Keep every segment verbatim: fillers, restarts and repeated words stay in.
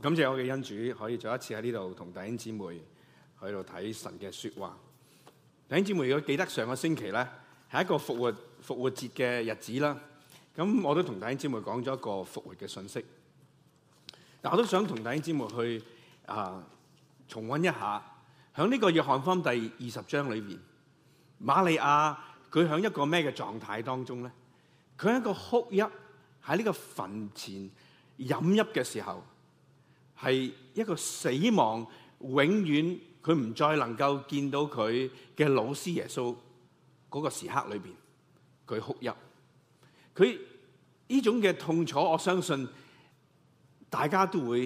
感謝我嘅恩主，可以再一次喺呢度同弟兄姊妹喺度睇神嘅說話。弟兄姊妹，如果記得上個星期咧，係一個復活復活節嘅日子啦。咁我都同弟兄姊妹講咗一個復活嘅信息。但我都想同弟兄姊妹去啊、呃、重溫一下，喺呢個約翰福音第二十章裏邊，瑪利亞佢喺一個咩嘅狀態當中咧？佢喺一個哭泣喺呢個墳前飲泣嘅時候。係一個死亡，永遠佢唔再能夠見到佢嘅老師耶穌嗰個時刻裏邊，佢哭泣。佢呢種嘅痛楚，我相信大家都會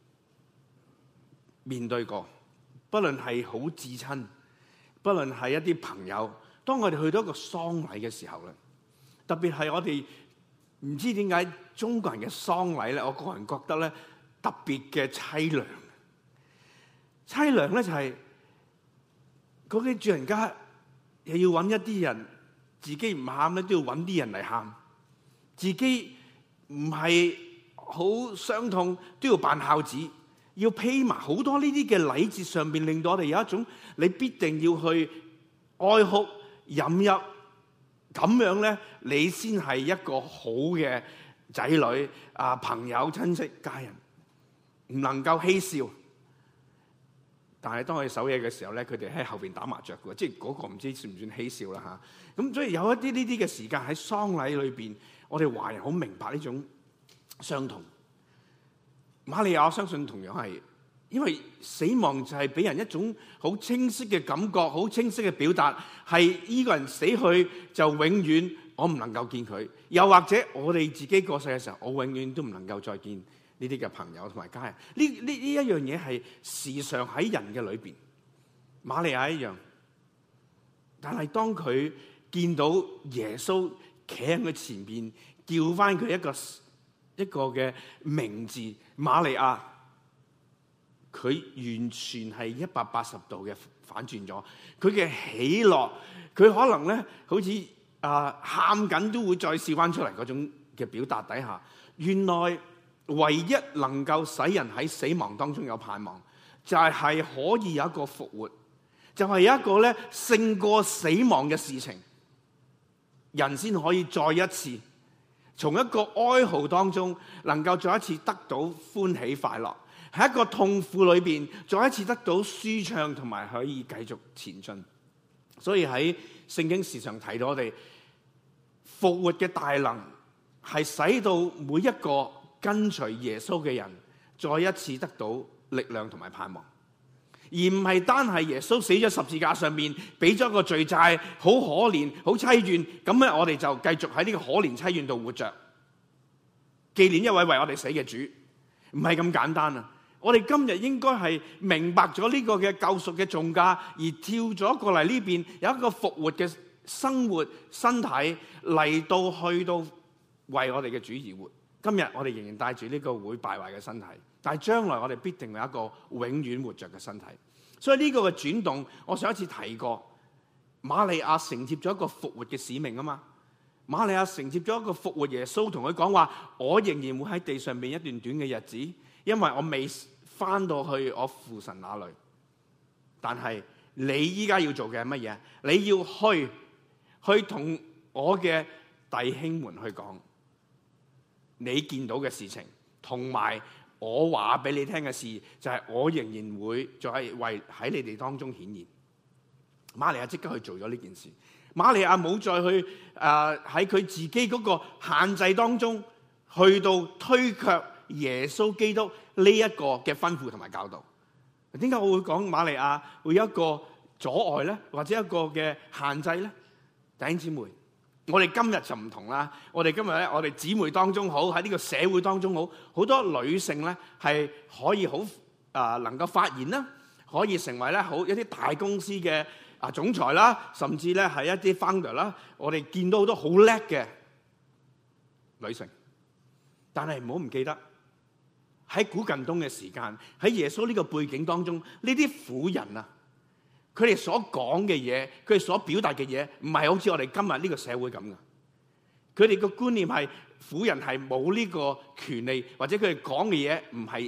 面對過。不論係好至親，不論係一啲朋友，當我哋去到一個喪禮嘅時候咧，特別係我哋唔知點解中國人嘅喪禮咧，我個人覺得咧。特別嘅淒涼，淒涼咧就係嗰啲主人家又要揾一啲人，自己唔喊咧都要揾啲人嚟喊，自己唔係好傷痛都要扮孝子，要披埋好多呢啲嘅禮節上邊，令到我哋有一種你必定要去哀哭飲泣，咁樣咧你先係一個好嘅仔女啊，朋友親戚家人。唔能夠嬉笑，但係當佢守夜嘅時候咧，佢哋喺後邊打麻雀嘅，即係嗰個唔知算唔算嬉笑啦吓。咁所以有一啲呢啲嘅時間喺喪禮裏邊，我哋華人好明白呢種傷痛。瑪利亞我相信同樣係，因為死亡就係俾人一種好清晰嘅感覺，好清晰嘅表達，係呢個人死去就永遠我唔能夠見佢，又或者我哋自己過世嘅時候，我永遠都唔能夠再見呢啲嘅朋友同埋家人，呢呢呢一樣嘢係時常喺人嘅裏邊。瑪利亞一樣，但係當佢見到耶穌企喺佢前邊，叫翻佢一個一個嘅名字瑪利亞，佢完全係一百八十度嘅反轉咗。佢嘅喜樂，佢可能咧好似啊喊緊都會再笑翻出嚟嗰種嘅表達底下，原來。唯一能夠使人喺死亡當中有盼望，就係、係、可以有一個復活，就係、係、有一個咧勝過死亡嘅事情，人先可以再一次從一個哀嚎當中，能夠再一次得到歡喜快樂，喺一個痛苦裏邊再一次得到舒暢，同埋可以繼續前進。所以喺聖經時常提到我哋復活嘅大能，係使到每一個跟隨耶穌嘅人再一次得到力量同埋盼望，而唔係單係耶穌死咗十字架上面俾咗個罪債，好可憐好淒怨，咁咧我哋就繼續喺呢個可憐淒怨度活着，紀念一位為我哋死嘅主，唔係咁簡單啊！我哋今日應該係明白咗呢個嘅救贖嘅重價，而跳咗過嚟呢邊有一個復活嘅生活身體嚟到去到為我哋嘅主而活。今日我哋仍然帶住呢個會敗壞嘅身體，但係將來我哋必定有一個永遠活着嘅身體。所以呢個嘅轉動，我上一次提過，瑪利亞承接咗一個復活嘅使命啊嘛。瑪利亞承接咗一個復活耶穌，同佢講話：我仍然會喺地上面一段短嘅日子，因為我未翻到去我父神那裏。但係你依家要做嘅係乜嘢？你要去去同我嘅弟兄們去講。你見到嘅事情，同埋我話俾你聽嘅事，就係、是、我仍然會再為喺你哋當中顯現。瑪利亞即刻去做咗呢件事。瑪利亞冇再去誒喺佢自己嗰個限制當中，去到推卻耶穌基督呢一個嘅吩咐同埋教導。點解我會講瑪利亞會有一個阻礙咧，或者一個嘅限制咧？弟兄姊妹。我哋今日就唔同啦，我哋今日咧，我哋姊妹當中好，喺呢個社會當中好，好多女性咧係可以好啊、呃，能夠發言啦，可以成為咧好一啲大公司嘅啊總裁啦，甚至咧係一啲 founder 啦，我哋見到好多好叻嘅女性，但係唔好唔記得喺古近東嘅時間，喺耶穌呢個背景當中，呢啲婦人啊。佢哋所講嘅嘢，佢哋所表達嘅嘢，唔係好似我哋今日呢個社會咁嘅。佢哋個觀念係婦人係冇呢個權利，或者佢哋講嘅嘢唔係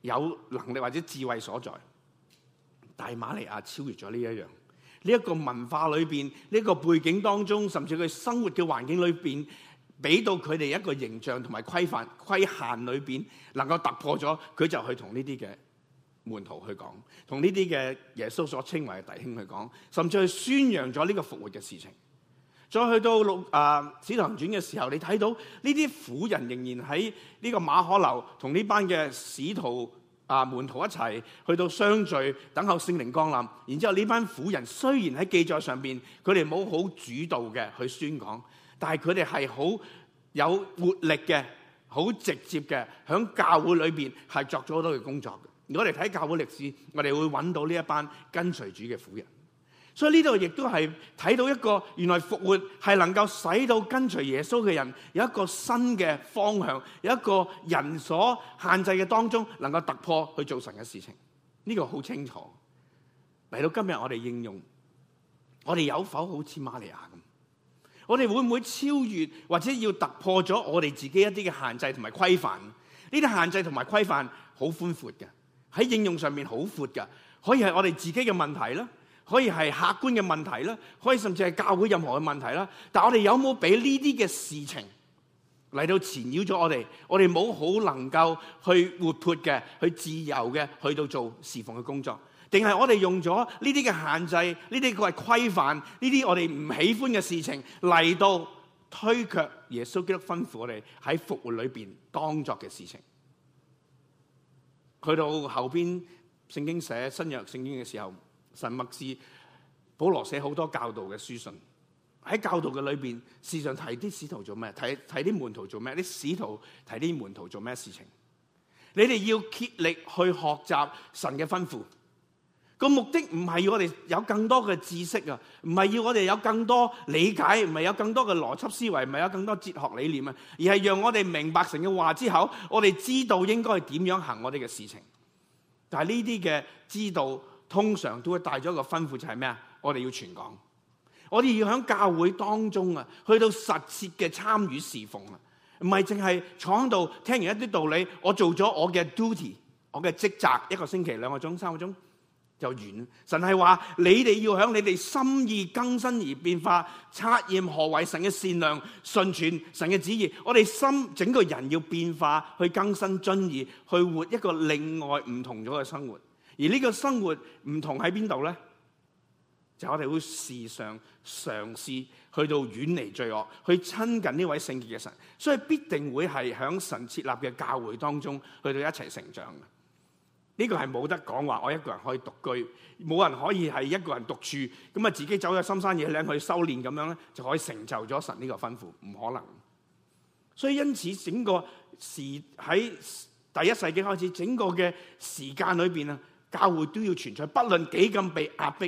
有能力或者智慧所在。但係瑪利亞超越咗呢一樣，呢一個文化裏邊，呢個背景當中，甚至佢生活嘅環境裏邊，俾到佢哋一個形象同埋規範規限裏邊，能夠突破咗，佢就去同呢啲嘅門徒去講，同呢啲嘅耶穌所稱為嘅弟兄去講，甚至去宣揚咗呢個復活嘅事情。再去到六啊《使徒行傳》嘅時候，你睇到呢啲婦人仍然喺呢個馬可樓同呢班嘅使徒啊門徒一齊去到相聚，等候聖靈降臨。然之後呢班婦人雖然喺記載上邊，佢哋冇好主導嘅去宣講，但係佢哋係好有活力嘅，好直接嘅，喺教會裏邊係作咗好多嘅工作嘅。如果我哋睇教會歷史，我哋會揾到呢一班跟隨主嘅婦人。所以呢度亦都係睇到一個原來復活係能夠使到跟隨耶穌嘅人有一個新嘅方向，有一個人所限制嘅當中能夠突破去做神嘅事情。呢個好清楚。嚟到今日我哋應用，我哋有否好似瑪利亞咁？我哋會唔會超越或者要突破咗我哋自己一啲嘅限制同埋規範？呢啲限制同埋規範好寬闊嘅，喺應用上面好闊嘅，可以係我哋自己嘅問題啦，可以係客觀嘅問題啦，可以甚至係教會任何嘅問題啦。但係我哋有冇俾呢啲嘅事情嚟到纏繞咗我哋？我哋冇好能夠去活潑嘅、去自由嘅去到做侍奉嘅工作，定係我哋用咗呢啲嘅限制、呢啲佢係規範、呢啲我哋唔喜歡嘅事情嚟到推卻耶穌基督吩咐我哋喺復活裏邊當作嘅事情？去到後邊聖經寫新約聖經嘅時候，神默示保羅寫好多教導嘅書信，喺教導嘅裏邊，時常提啲使徒做咩，提提啲門徒做咩，啲使徒提啲門徒做咩事情。你哋要竭力去學習神嘅吩咐，個目的唔係要我哋有更多嘅知識啊，唔係要我哋有更多理解，唔係有更多嘅邏輯思維，唔係有更多哲學理念啊，而係讓我哋明白神嘅話之後，我哋知道應該點樣行我哋嘅事情。但係呢啲嘅知道，通常都會帶咗一個吩咐，就係咩啊？我哋要傳講，我哋要喺教會當中啊，去到實切嘅參與侍奉啊，唔係淨係坐喺度聽完一啲道理，我做咗我嘅 duty， 我嘅職責，一個星期兩個鐘、三個鐘就完。神係話你哋要喺你哋心意更新而變化，察驗何為神嘅善良、順全神嘅旨意。我哋心整個人要變化，去更新遵義，去活一個另外唔同咗嘅生活。而呢個生活唔同喺邊度咧？就我哋會時常嘗試去到遠離罪惡，去親近呢位聖潔嘅神，所以必定會係喺神設立嘅教會當中去到一齊成長嘅。呢個係冇得講話，我一個人可以獨居，冇人可以係一個人獨處，咁啊自己走咗深山野嶺去修煉咁樣咧，就可以成就咗神呢個吩咐，唔可能。所以因此整個時喺第一世紀開始，整個嘅時間裏邊啊，教會都要存在，不論幾咁被壓迫，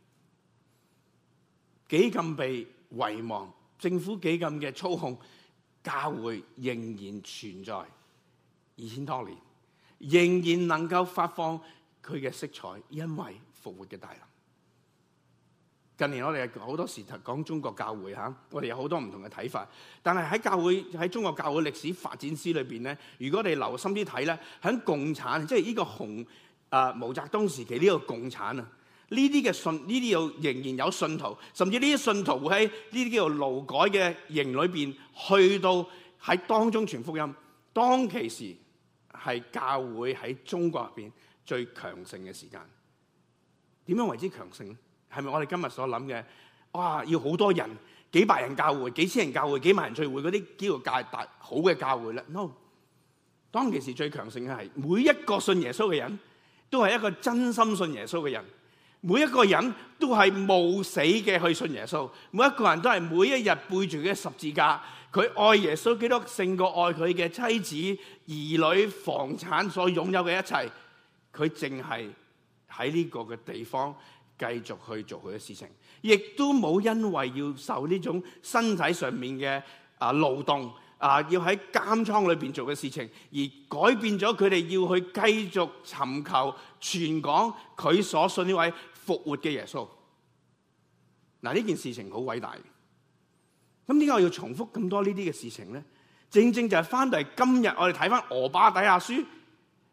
幾咁被遺忘，政府幾咁嘅操控，教會仍然存在二千多年，仍然能夠發放佢嘅色彩，因為復活嘅大能。近年我哋好多時講中國教會嚇，我哋有好多唔同嘅睇法，但係喺教會喺中國教會歷史發展史裏邊咧，如果我哋留心啲睇咧，喺共產即係呢個紅啊毛澤東時期呢個共產啊，呢啲嘅信呢啲又仍然有信徒，甚至呢啲信徒會喺呢啲叫做勞改嘅營裏邊去到喺當中傳福音。當其時係教會喺中國入邊最強盛嘅時間。點樣為之強盛咧？係咪我哋今日所諗嘅？哇，要好多人，幾百人教會、幾千人教會、幾萬人聚會嗰啲基督教大好嘅教會咧 ？No， 當其時最強盛嘅係每一個信耶穌嘅人都係一個真心信耶穌嘅人，每一個人都係冒死嘅去信耶穌，每一個人都係每一日背住嘅十字架，佢愛耶穌基督勝過愛佢嘅妻子、兒女、房產所擁有嘅一切，佢淨係喺呢個嘅地方繼續去做佢嘅事情，亦都冇因為要受呢種身體上面嘅啊勞動啊，要喺監倉裏邊做嘅事情，而改變咗佢哋要去繼續尋求傳講佢所信呢位復活嘅耶穌。嗱，呢件事情好偉大。咁點解我要重複咁多呢啲嘅事情咧？正正就係翻到嚟今日，我哋睇翻俄巴底亞書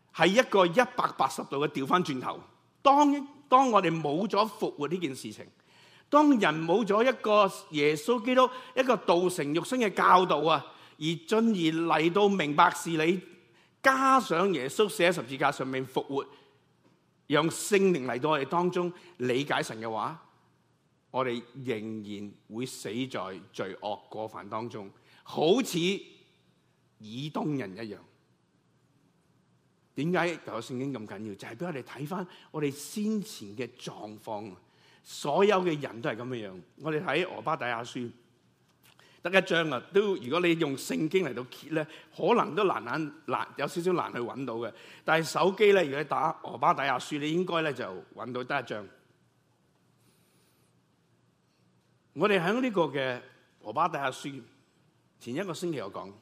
係一個一百八十度嘅調翻轉頭。當當我哋冇咗復活呢件事情，當人冇咗一個耶穌基督一個道成肉身嘅教導啊，而進而嚟到明白事理，加上耶穌寫喺十字架上面復活，讓聖靈嚟到我哋當中理解神嘅話，我哋仍然會死在罪惡過犯當中，好似以東人一樣。點解舊約聖經咁緊要？就係俾我哋睇翻我哋先前嘅狀況。所有嘅人都係咁嘅樣。我哋睇俄巴底亞書得一章啊，都如果你用聖經嚟到揭咧，可能都難難難有少少難去揾到嘅。但係手機咧，如果你打俄巴底亞書，你應該咧就揾到得一章。我哋喺呢個嘅俄巴底亞書前一個星期有講，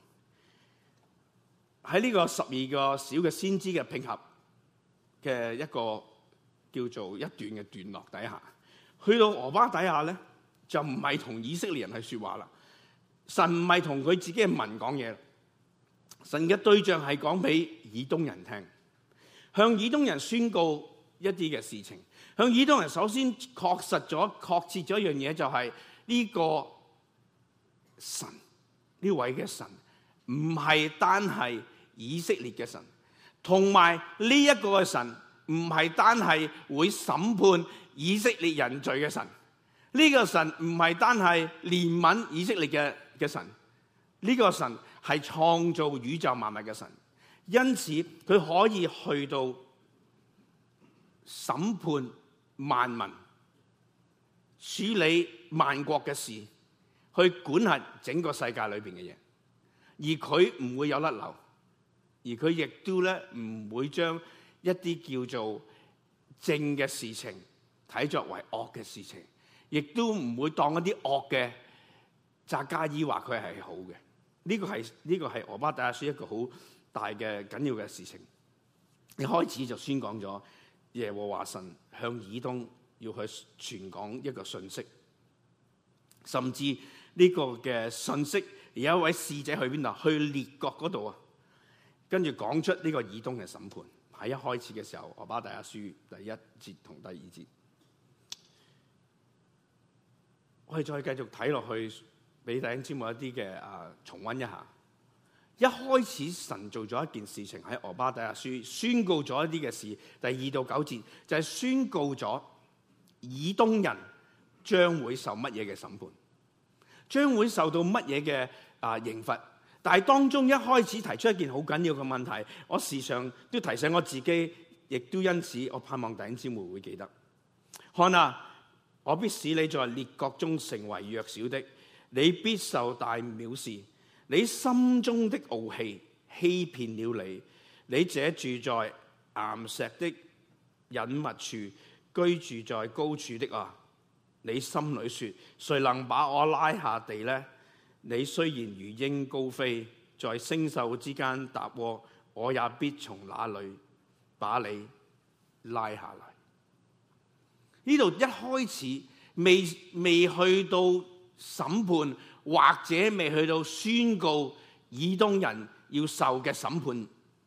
喺呢個十二個小嘅先知嘅拼合嘅一個叫做一段嘅段落底下，去到俄巴底亞咧就唔係同以色列人去說話啦，神唔係同佢自己嘅民講嘢，神嘅對象係講俾以東人聽，向以東人宣告一啲嘅事情。向以東人首先確實咗、確切咗一樣嘢，就係呢個神，呢位嘅神唔係單係以色列嘅神，同埋呢一個嘅神唔係單係會審判以色列人罪嘅神。呢個神唔係單係憐憫以色列嘅嘅神，呢個神係創造宇宙萬物嘅神。因此佢可以去到審判萬民，處理萬國嘅事，去管轄整個世界裏邊嘅嘢，而佢唔會有甩漏，而佢亦都咧唔會將一啲叫做正嘅事情睇作為惡嘅事情，亦都唔會當一啲惡嘅匝加伊話佢係好嘅。呢個係呢個係俄巴底亞書一個好大嘅緊要嘅事情。一開始就宣講咗耶和華神向以東要去傳講一個信息，甚至呢個嘅信息有一位使者去邊度？去列國嗰度啊，跟住講出呢個以東嘅審判。喺一開始嘅時候，俄巴底亞書第一節同第二節，我哋再繼續睇落去，俾弟兄姊妹一啲嘅啊重溫一下。一開始神做咗一件事情喺俄巴底亞書宣告咗一啲嘅事，第二到九節就係、是、宣告咗以東人將會受乜嘢嘅審判，將會受到乜嘢嘅啊刑罰。但係當中一開始提出一件好緊要嘅問題，我時常都提醒我自己，亦都因此我盼望弟兄姊妹會記得。看啊，我必使你在列國中成為弱小的，你必受大藐視。你心中的傲氣欺騙了你，你這住在岩石的隱密處，居住在高處的啊！你心裏說：誰能把我拉下地呢？你雖然如鷹高飛，在星宿之間搭窩，我也必從那裏把你拉下來。呢度一開始未未去到審判，或者未去到宣告以東人要受嘅審判，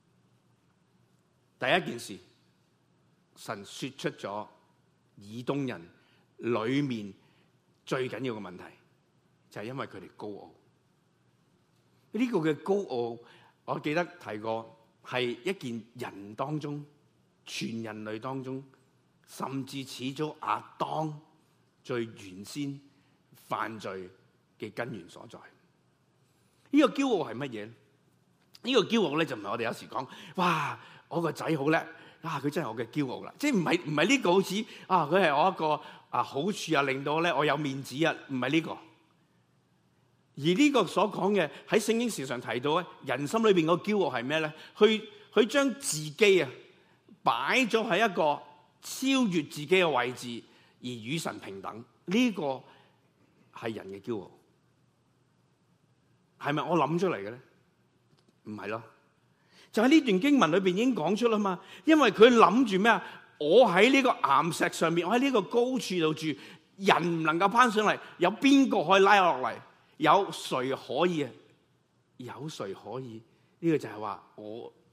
第一件事，神說出咗以東人裏面最緊要嘅問題，就係因為佢哋高傲。呢個嘅高傲，我記得提過，係一件人當中，全人類當中，甚至始祖亞當最原先犯罪嘅根源所在。呢個驕傲係乜嘢？呢個驕傲咧就唔係我哋有時講，哇！我個仔好叻啊，佢真係我嘅驕傲啦。即係唔係唔係呢個好似啊，佢係我一個啊好處啊，令到咧我有面子啊，唔係呢個。而呢個所講嘅喺聖經時常提到咧，人心裏邊個驕傲係咩咧？去去將自己啊擺咗喺一個超越自己嘅位置，而與神平等。呢個係人嘅驕傲，係咪我諗出嚟嘅咧？唔係咯，就喺呢段經文裏邊已經講出啦嘛。因為佢諗住咩啊？我喺呢個岩石上面，我喺呢個高處度住，人唔能夠攀上嚟，有邊個可以拉我落嚟？有誰可以啊？有誰可以？呢個就係話我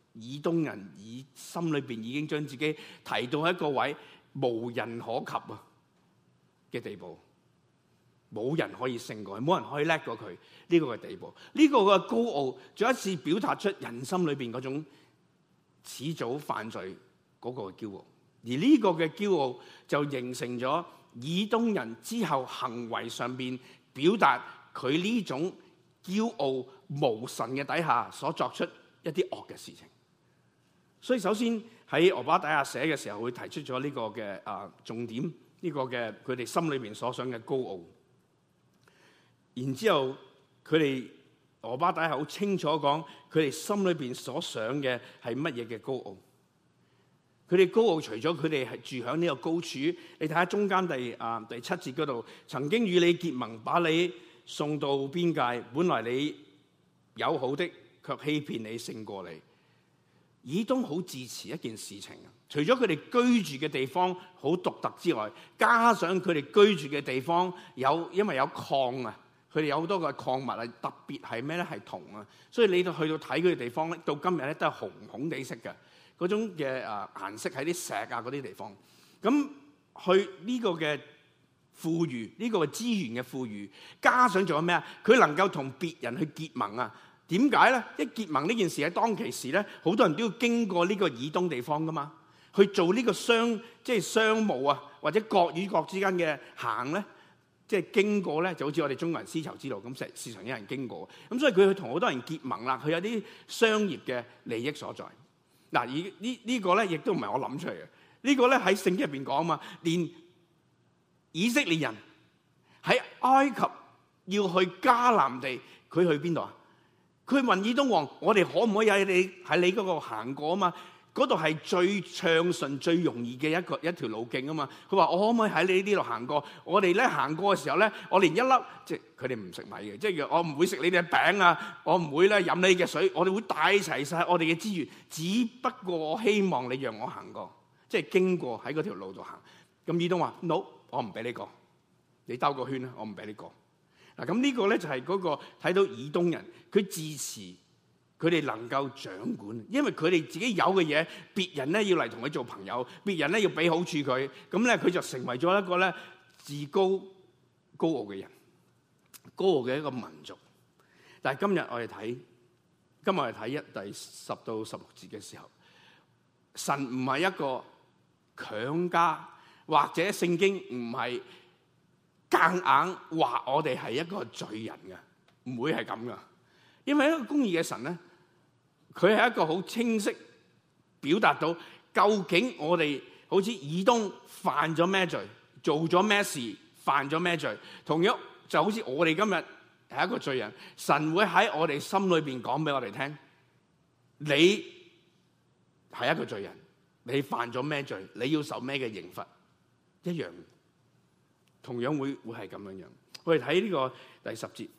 以東人以心裏邊已經將自己提到一個位無人可及啊嘅地步，冇人可以勝過佢，冇人可以叻過佢呢個嘅地步。呢個嘅高傲再一次表達出人心裏邊嗰種始祖犯罪嗰個驕傲，而呢個嘅驕傲就形成咗以東人之後行為上邊表達佢呢種驕傲無神嘅底下所作出一啲惡嘅事情。所以首先喺俄巴底亞寫嘅時候，會提出咗呢個嘅啊重點，呢個嘅佢哋心裏邊所想嘅高傲。然之後佢哋俄巴底亞好清楚講，佢哋心裏邊所想嘅係乜嘢嘅高傲。佢哋高傲除咗佢哋係住響呢個高處，你睇下中間第啊第七節嗰度，曾經與你結盟，把你送到邊界，本來你友好的，卻欺騙你勝過你。以東好自持一件事情，除咗佢哋居住嘅地方好獨特之外，加上佢哋居住嘅地方有因為有礦啊，佢哋有好多個礦物啊，特別係咩咧？係銅啊，所以你到去到睇佢哋地方咧，到今日咧都係紅紅地色嘅嗰種嘅啊顏色喺啲石啊嗰啲地方。咁去呢個嘅富裕，呢個資源嘅富裕，加上仲有咩啊？佢能夠同別人去結盟啊！點解咧？一結盟呢件事喺當其時咧，好多人都要經過呢個以東地方噶嘛，去做呢個商即係商務啊，或者國與國之間嘅行咧，即係經過咧，就好似我哋中國人絲綢之路咁，成市場有人經過。咁所以佢去同好多人結盟啦，佢有啲商業嘅利益所在。嗱，而呢呢個咧，亦都唔係我諗出嚟嘅。呢個咧喺聖經入邊講啊嘛，連以色列人喺埃及要去迦南地，佢去邊度啊？佢問以東王：我哋可唔可以喺你喺你嗰度行過啊嘛？嗰度係最暢順、最容易嘅一個一條路徑啊嘛。佢話：我可唔可以喺你呢度行過？我哋咧行過嘅時候咧，我連一粒即係佢哋唔食米嘅，即係我唔會食你哋嘅餅啊，我唔會咧飲你嘅水，我哋會帶齊晒我哋嘅資源。只不過我希望你讓我行過，即係經過喺嗰條路度行。咁以東話：no，我唔俾你過，你兜個圈啦，我唔俾你過。嗱，咁呢個咧就係嗰個睇到以東人佢自持，佢哋能夠掌管，因為佢哋自己有嘅嘢，別人咧要嚟同佢做朋友，別人咧要俾好處佢，咁咧佢就成為咗一個咧自高高傲嘅人，高傲嘅一個民族。但係今日我哋睇，今日我哋睇一第十到十六節嘅時候，神唔係一個強加，或者聖經唔係夾硬話我哋係一個罪人嘅，唔會係咁噶。因為一個公義嘅神咧，佢係一個好清晰表達到究竟我哋好似以東犯咗咩罪，做咗咩事，犯咗咩罪。同樣就好似我哋今日係一個罪人，神會喺我哋心裏邊講俾我哋聽，你係一個罪人，你犯咗咩罪，你要受咩嘅刑罰，一樣。同樣會會係咁樣樣。我哋睇呢個第十節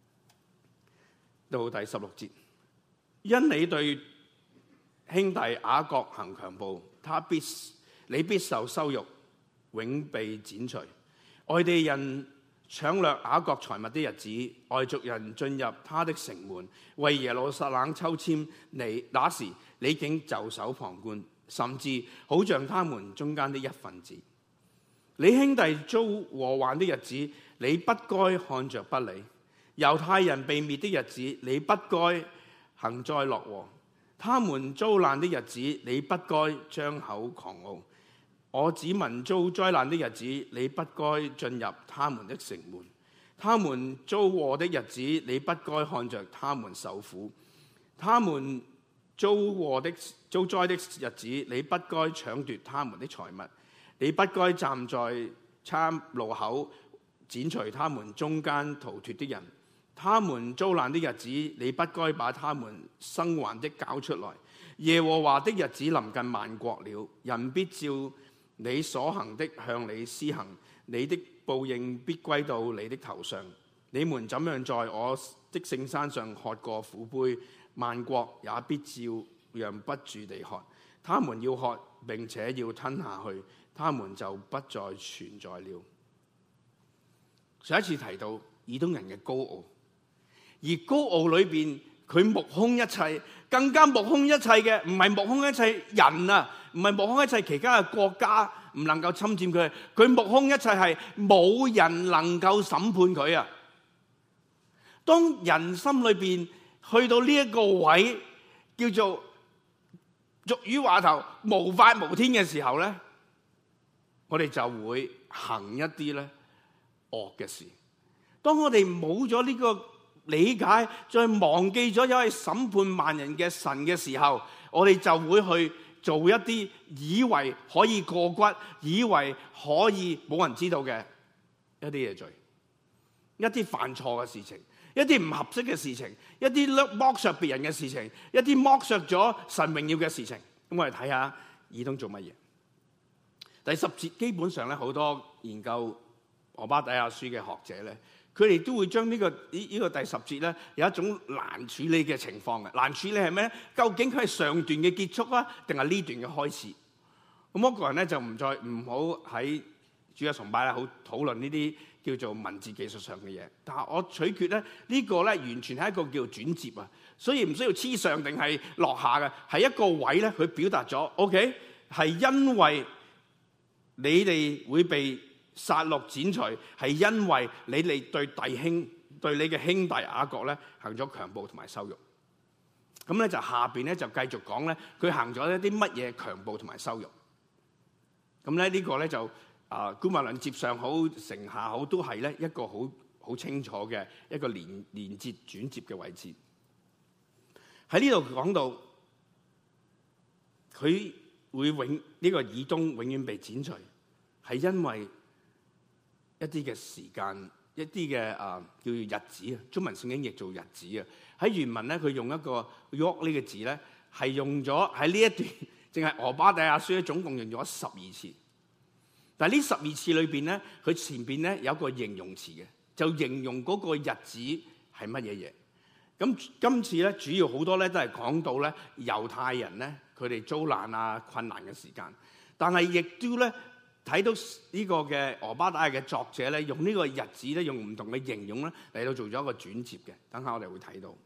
到第十六節，因你對兄弟雅各行強暴，他必你必受羞辱，永被剪除。外地人搶掠雅各財物的日子，外族人進入他的城門，為耶路撒冷抽籤，你那時你竟袖手旁觀，甚至好像他們中間的一份子。你兄弟遭禍患的日子，你不該看着不理；猶太人被滅的日子，你不該幸災樂禍；他們遭難的日子，你不該張口狂傲；我子民遭災難的日子，你不該進入他們的城門；他們遭禍的日子，你不該看着他們受苦；他們遭禍的遭災的日子，你不該搶奪他們的財物。你不該站在岔路口剪除他們中間逃脫的人，他們遭難的日子，你不該把他們生還的交出來。耶和華的日子臨近萬國了，人必照你所行的向你施行，你的報應必歸到你的頭上。你們怎樣在我的聖山上喝過苦杯，萬國也必照樣不住地喝。他們要喝並且要吞下去，他們就不再存在了。上一次提到以東人嘅高傲，而高傲裏邊佢目空一切，更加目空一切嘅唔係目空一切人啊，唔係目空一切其他嘅國家唔能夠侵佔佢，佢目空一切係冇人能夠審判佢啊！當人心裏邊去到呢一個位，叫做俗語話頭無法無天嘅時候咧，我哋就會行一啲咧惡嘅事。當我哋冇咗呢個理解，再忘記咗有位審判萬人嘅神嘅時候，我哋就會去做一啲以為可以過骨、以為可以冇人知道嘅一啲嘢罪，一啲犯錯嘅事情，一啲唔合適嘅事情，一啲剝削別人嘅事情，一啲剝削咗神榮耀嘅事情。咁我哋睇下以東做乜嘢？第十節基本上咧，好多研究俄巴底亞書嘅學者咧，佢哋都會將呢、這個呢呢、這個第十節咧有一種難處理嘅情況嘅。難處理係咩咧？究竟佢係上段嘅結束啊，定係呢段嘅開始？咁我個人咧就唔再唔好喺主日崇拜咧好討論呢啲叫做文字技術上嘅嘢。但係我取決咧呢、這個咧完全係一個叫做轉接啊，所以唔需要黐上定係落下嘅，係一個位咧佢表達咗 OK 係因為你哋會被殺戮剪除，係因為你哋對弟兄對你嘅兄弟雅各咧行咗強暴同埋羞辱。咁咧就下邊咧就繼續講咧，佢行咗一啲乜嘢強暴同埋羞辱。咁咧呢個咧就啊姑勿論接上好成下好，都係咧一個好好清楚嘅一個連連接轉接嘅位置。喺呢度講到佢會永呢、這個以東永遠被剪除，係因為一啲嘅時間，一啲嘅啊叫做日子啊，中文聖經譯做日子啊。喺原文咧，佢用一個 York 呢個字咧，係用咗喺呢一段，淨係俄巴底亞書咧，總共用咗十二次。但係呢十二次裏邊咧，佢前邊咧有一個形容詞嘅，就形容嗰個日子係乜嘢嘢。咁今次咧，主要好多咧都係講到咧猶太人咧佢哋遭難啊困難嘅時間，但係亦都咧睇到呢個嘅俄巴底亞嘅作者咧，用呢個日子咧，用唔同嘅形容咧嚟到做咗一個轉接嘅。等下我哋會睇到。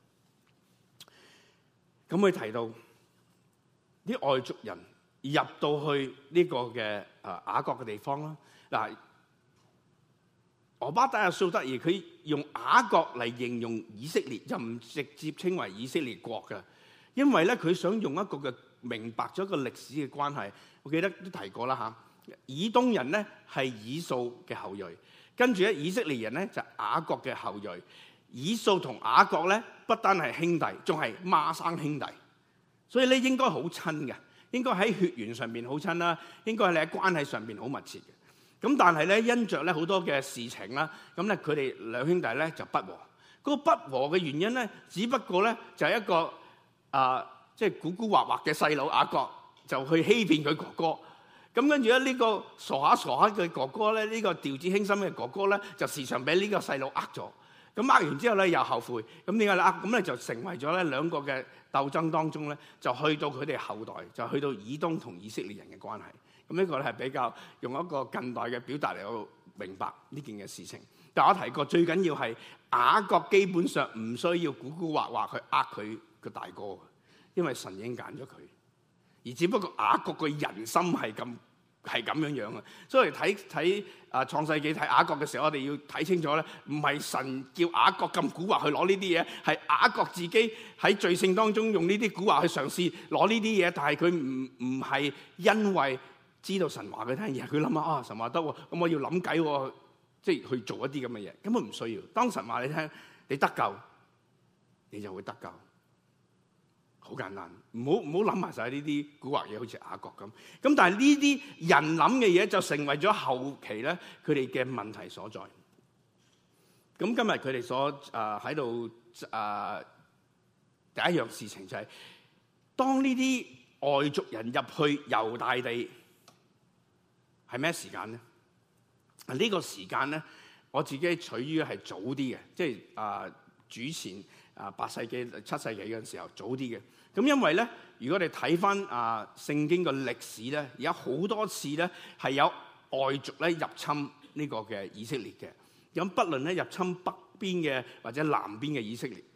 咁佢提到啲外族人入到去呢個嘅啊雅各嘅地方啦。嗱，俄巴底亞數得意，佢用雅各嚟形容以色列，就唔直接稱為以色列國嘅，因為咧佢想用一個嘅明白咗一個歷史嘅關係。我記得都提過啦嚇。以東人咧係以掃嘅後裔，跟住咧以色列人咧就係雅各嘅後裔。以掃同雅各咧不單係兄弟，仲係孖生兄弟，所以咧應該好親嘅，應該喺血緣上面好親啦，應該係你喺關係上面好密切嘅。咁但係咧因着咧好多嘅事情啦，咁咧佢哋兩兄弟咧就不和。嗰個不和嘅原因咧，只不過咧就係一個啊，即係古古惑惑嘅細佬雅各就去欺騙佢哥哥。咁跟住咧，呢個傻下傻下嘅哥哥咧，呢、這個調子輕心嘅哥哥咧，就時常俾呢個細路呃咗。咁呃完之後咧，又後悔。咁點解咧？咁咧就成為咗咧兩個嘅鬥爭當中咧，就去到佢哋後代，就去到以東同以色列人嘅關係。咁呢個咧係比較用一個近代嘅表達嚟到明白呢件嘅事情。但我提過，最緊要係雅各基本上唔需要古古惑惑去呃佢個大哥，因為神已經揀咗佢。而只不過雅各個人心係咁係咁樣樣啊，所以睇睇啊創世記睇雅各嘅時候，我哋要睇清楚咧，唔係神叫雅各咁蠱惑去攞呢啲嘢，係雅各自己喺罪性當中用呢啲蠱惑去嘗試攞呢啲嘢，但係佢唔唔係因為知道神話佢聽，而係佢諗下啊神話得喎，咁我要諗計喎，即係去做一啲咁嘅嘢，根本唔需要。當神話你聽，你得救，你就會得救。好簡單，唔好唔好諗埋晒呢啲古惑嘢，好似雅各咁。咁但係呢啲人諗嘅嘢就成為咗後期咧佢哋嘅問題所在。咁今日佢哋所誒喺度誒第一樣事情就係、是，當呢啲外族人入去猶大地係咩時間咧？呢、這個時間咧，我自己取於係早啲嘅，即係誒主前。啊，八世紀、七世紀嗰陣時候早啲嘅，咁因為咧，如果你睇翻啊聖經嘅歷史咧，而家好多次咧係有外族咧入侵呢個嘅以色列嘅，咁不論咧入侵北邊嘅或者南邊嘅以色列，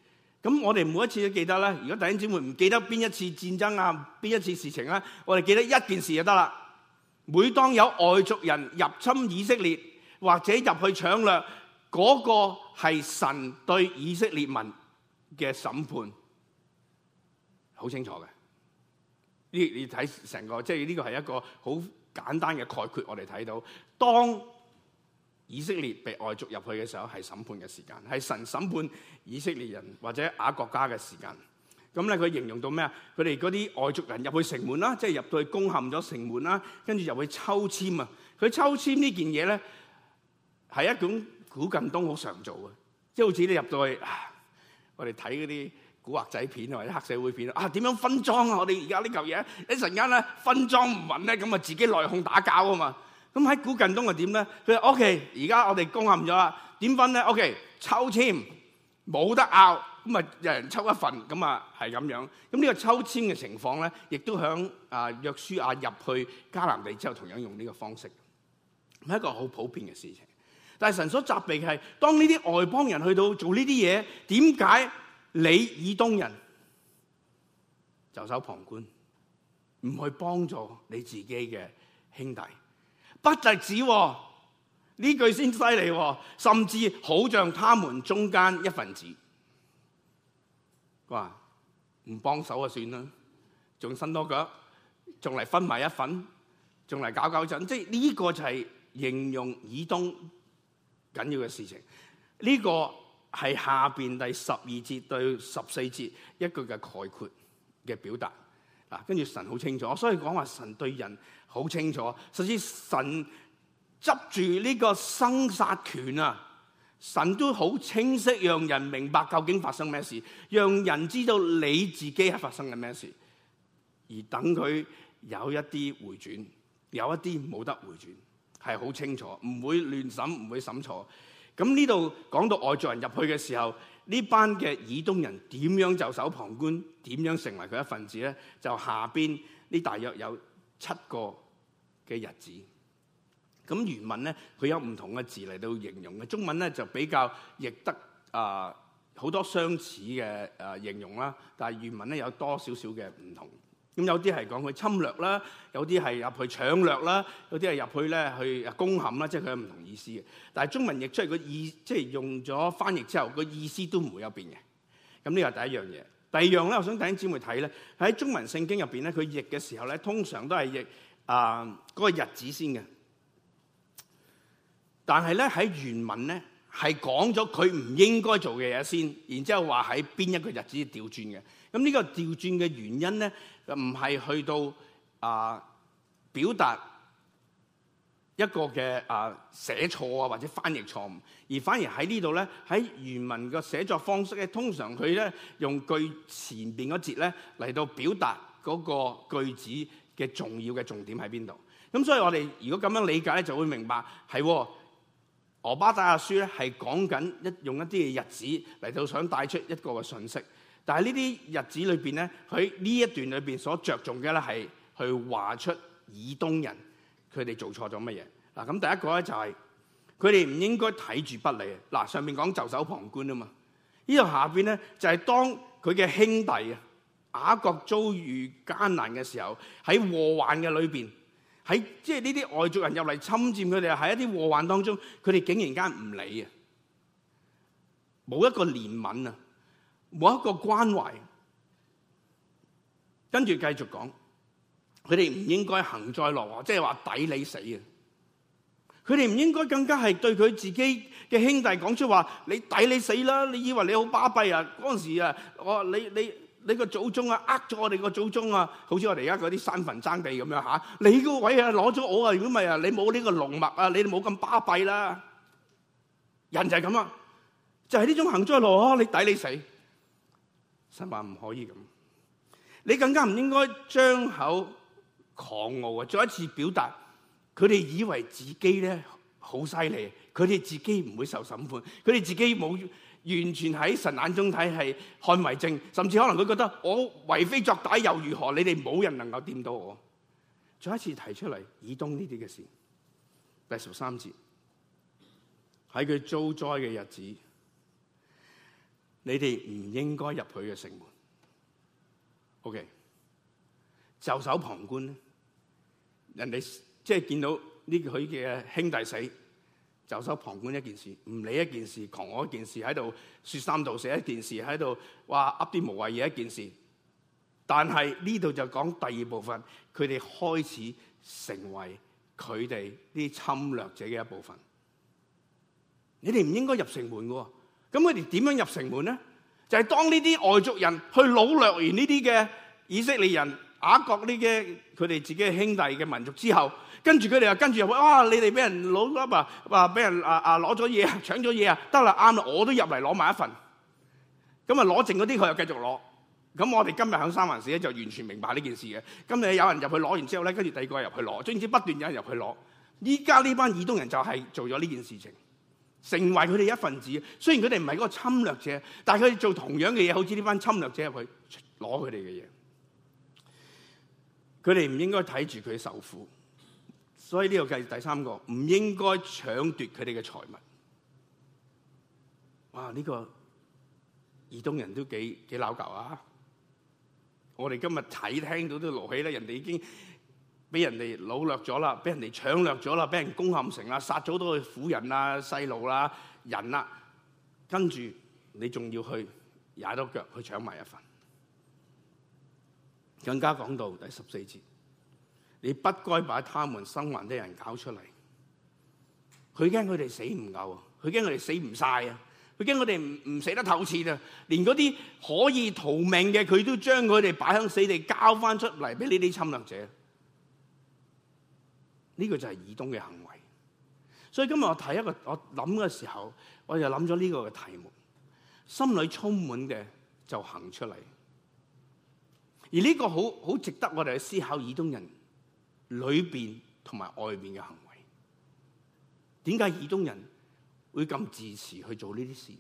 咁我哋每一次都記得咧。如果弟兄姊妹唔記得邊一次戰爭啊，邊一次事情咧，我哋記得一件事就得啦。每當有外族人入侵以色列或者入去搶掠，嗰個係神對以色列民嘅審判，好清楚嘅。呢你睇成個，即係呢個係一個好簡單嘅概括。我哋睇到，當以色列被外族入去嘅時候，係審判嘅時間，係神審判以色列人或者亞國家嘅時間。咁咧，佢形容到咩啊？佢哋嗰啲外族人入去城門啦，即係入到去攻陷咗城門啦，跟住入去抽籤啊！佢抽籤呢件嘢咧，係一種古近東好常做嘅，即係好似你入到去，我哋睇嗰啲古惑仔片或者黑社會片啊，點樣分贓啊？我哋而家呢嚿嘢一陣間咧分贓唔穩咧，咁啊自己內訌打交啊嘛！咁喺古近東係點咧？佢話 OK，而家我哋攻陷咗啦，點分咧 ？OK， 抽籤冇得拗。咁啊，有人抽一份，咁啊係咁樣。咁呢個抽籤嘅情況咧，亦都響啊約書亞入去迦南地之後，同樣用呢個方式，係一個好普遍嘅事情。但係神所責備嘅係，當呢啲外邦人去到做呢啲嘢，點解你以東人袖手旁觀，唔去幫助你自己嘅兄弟？不特止喎，呢句先犀利喎，甚至好像他們中間一份子。話唔幫手就算啦，仲伸多腳，仲嚟分埋一份，仲嚟搞搞震，即係呢個就係形容以東緊要嘅事情。呢、這個係下邊第十二節對十四節一句嘅概括嘅表達。嗱，跟住神好清楚，所以講話神對人好清楚，甚至神執住呢個生殺權啊！神都好清晰，讓人明白究竟發生咩事，讓人知道你自己係發生緊咩事，而等佢有一啲回轉，有一啲冇得回轉，係好清楚，唔會亂審，唔會審錯。咁呢度講到外族人入去嘅時候，呢班嘅以東人點樣袖手旁觀，點樣成為佢一份子咧？就下邊呢大約有七個嘅日子。咁原文咧，佢有唔同嘅字嚟到形容嘅。中文咧就比較譯得啊好、呃、多相似嘅誒、呃、形容啦，但係原文咧有多少少嘅唔同。咁有啲係講佢侵略啦，有啲係入去搶掠啦，有啲係入去咧去攻陷啦，即係佢有唔同意思嘅。但係中文譯出嚟個意，即係用咗翻譯之後個意思都唔會有變嘅。咁呢個係第一樣嘢。第二樣咧，我想弟兄姊妹睇咧，喺中文聖經入邊咧，佢譯嘅時候咧，通常都係譯啊嗰個日子先嘅。但係咧喺原文咧係講咗佢唔應該做嘅嘢先，然之後話喺邊一個日子調轉嘅。咁呢個調轉嘅原因咧，唔係去到啊、呃、表達一個嘅啊、呃、寫錯啊或者翻譯錯誤，而反而喺呢度咧喺原文嘅寫作方式咧，通常佢咧用句前邊嗰節咧嚟到表達嗰個句子嘅重要嘅重點喺邊度。咁所以我哋如果咁樣理解咧，就會明白係。俄巴底亞書咧係講緊一用一啲嘅日子嚟到想帶出一個嘅信息，但係呢啲日子裏邊咧，佢呢一段裏邊所着重嘅咧係去話出以東人佢哋做錯咗乜嘢。嗱，咁第一個咧就係佢哋唔應該睇住不理。嗱，上面講袖手旁觀啊嘛，呢度下邊咧就係當佢嘅兄弟啊雅各遭遇艱難嘅時候，喺禍患嘅裏邊。喺即係呢啲外族人入嚟侵佔佢哋，喺一啲禍患當中，佢哋竟然間唔理啊，冇一個憐憫啊，冇一個關懷。跟住繼續講，佢哋唔應該幸災樂禍，即係話抵你死啊！佢哋唔應該更加係對佢自己嘅兄弟講出話：你抵你死啦！你以為你好巴閉啊？嗰陣時啊，我你你。你個祖宗啊，呃咗我哋個祖宗啊，好似我哋而家嗰啲山墳爭地咁樣嚇。你個位啊，攞咗我啊，如果唔係啊，你冇呢個龍脈啊，你冇咁巴閉啦。人就係咁啊，就係呢種幸災樂禍，你抵你死。神話唔可以咁，你更加唔應該張口狂傲啊！再一次表達，佢哋以為自己咧好犀利，佢哋自己唔會受審判，佢哋自己冇。完全喺神眼中睇係看為正，甚至可能佢覺得我為非作歹又如何？你哋冇人能夠掂到我。再一次提出嚟以東呢啲嘅事，第十三節喺佢遭災嘅日子， 你哋唔應該入佢嘅城門。OK， 袖手旁觀咧，人哋即係見到呢佢嘅兄弟死，袖手旁觀一件事，唔理一件事，狂我一件事，喺度説三道四一件事，喺度話噏啲無謂嘢一件事。但係呢度就講第二部分，佢哋開始成為佢哋啲侵略者嘅一部分。你哋唔應該入城門嘅，咁佢哋點樣入城門咧？就係、是、當呢啲外族人去擄掠完呢啲嘅以色列人、雅各呢嘅佢哋自己嘅兄弟嘅民族之後，跟住佢哋又跟住入去，哇！你哋俾人攞咗啊，話俾人啊啊攞咗嘢，搶咗嘢啊，得啦啱啦，我都入嚟攞埋一份。咁啊攞剩嗰啲佢又繼續攞。咁我哋今日喺三藩市咧就完全明白呢件事嘅。今日有人入去攞完之後咧，跟住第二個入去攞，總之不斷有人入去攞。依家呢班以東人就係做咗呢件事情，成為佢哋一份子。雖然佢哋唔係嗰個侵略者，但係佢哋做同樣嘅嘢，好似呢班侵略者入去攞佢哋嘅嘢。佢哋唔應該睇住佢受苦，所以呢個計第三個，唔應該搶奪佢哋嘅財物。哇！呢個以東人都幾幾撈舊啊！我哋今日睇聽到都勞氣啦，人哋已經俾人哋擄掠咗啦，俾人哋搶掠咗啦，俾人攻陷城啦，殺咗好多婦人啊、細路啦、人啦，跟住你仲要去踩到腳去搶埋一份。更加講到第十四節，你不該把他們生還的人搞出嚟。佢驚佢哋死唔夠啊，佢驚佢哋死唔晒啊。佢驚佢哋唔唔死得透徹啊！連嗰啲可以逃命嘅，佢都將佢哋擺喺死地，交翻出嚟俾呢啲侵略者。呢、這個就係以東嘅行為。所以今日我睇一個，我諗嘅時候，我就諗咗呢個嘅題目，心裏充滿嘅就行出嚟。而呢個好好值得我哋去思考以東人裏邊同埋外邊嘅行為。點解以東人會咁自持去做呢啲事？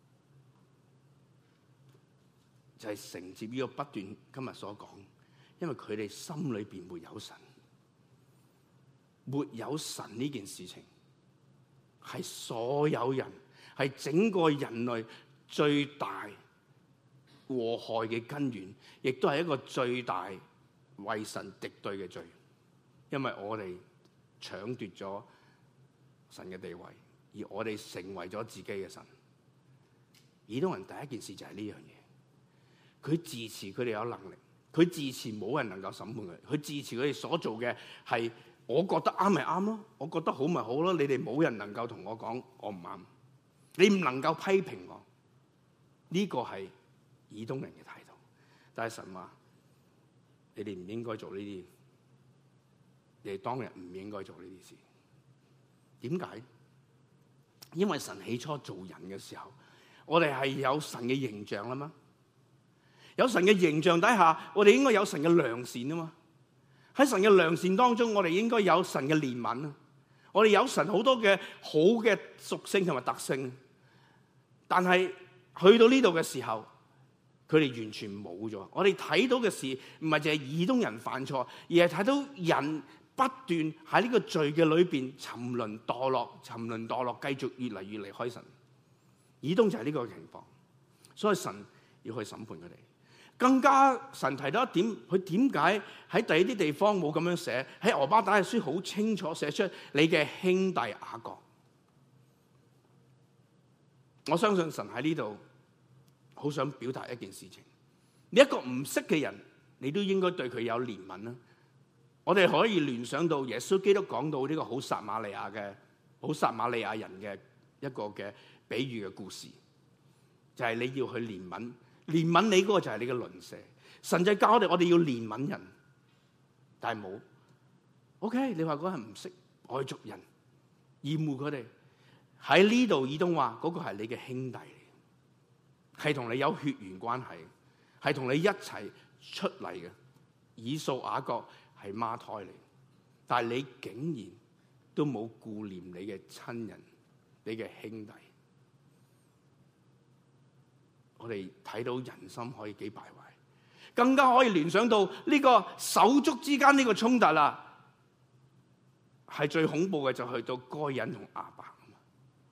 就係、是、承接呢個不斷今日所講，因為佢哋心裏邊沒有神，沒有神呢件事情係所有人，係整個人類最大禍害嘅根源，亦都係一個最大為神敵對嘅罪，因為我哋搶奪咗神嘅地位。而我哋成為咗自己嘅神。以東人第一件事就係呢樣嘢，佢自持佢哋有能力，佢自持冇人能夠審判佢，佢自持佢哋所做嘅係我覺得啱咪啱咯，我覺得好咪好咯，你哋冇人能夠同我講我唔啱，你唔能夠批評我。呢、這個係以東人嘅態度。但係神話你哋唔應該做呢啲，你哋當日唔應該做呢啲事。點解？因為神起初做人嘅時候，我哋係有神嘅形象啦嘛，有神嘅形象底下，我哋應該有神嘅良善啊嘛。喺神嘅良善當中，我哋應該有神嘅憐憫啊。我哋有神好多嘅好嘅屬性同埋特性，但係去到呢度嘅時候，佢哋完全冇咗。我哋睇到嘅事唔係淨係以東人犯錯，而係睇到人不斷喺呢個罪嘅裏邊沉淪墮落，沉淪墮落，繼續越嚟越離開神。以東就係呢個情況，所以神要去審判佢哋。更加神提到一點，佢點解喺第二啲地方冇咁樣寫？喺俄巴底亞書好清楚寫出你嘅兄弟雅各。我相信神喺呢度好想表達一件事情，你一個唔識嘅人，你都應該對佢有憐憫啦。我哋可以聯想到耶穌基督講到呢個好撒瑪利亞嘅好撒瑪利亞人嘅一個嘅比喻嘅故事，就係、是、你要去憐憫，憐憫你嗰個就係你嘅鄰舍。神就教我哋，我哋要憐憫人，但係冇。OK， 你話嗰人唔識外族人，厭惡佢哋，喺呢度以東話嗰個係你嘅兄弟嚟，係同你有血緣關係，係同你一齊出嚟嘅。以掃雅各係孖胎嚟，但係你竟然都冇顧念你嘅親人，你嘅兄弟。我哋睇到人心可以幾敗壞，更加可以聯想到呢個手足之間呢個衝突啦，係最恐怖嘅就去到該隱同亞伯。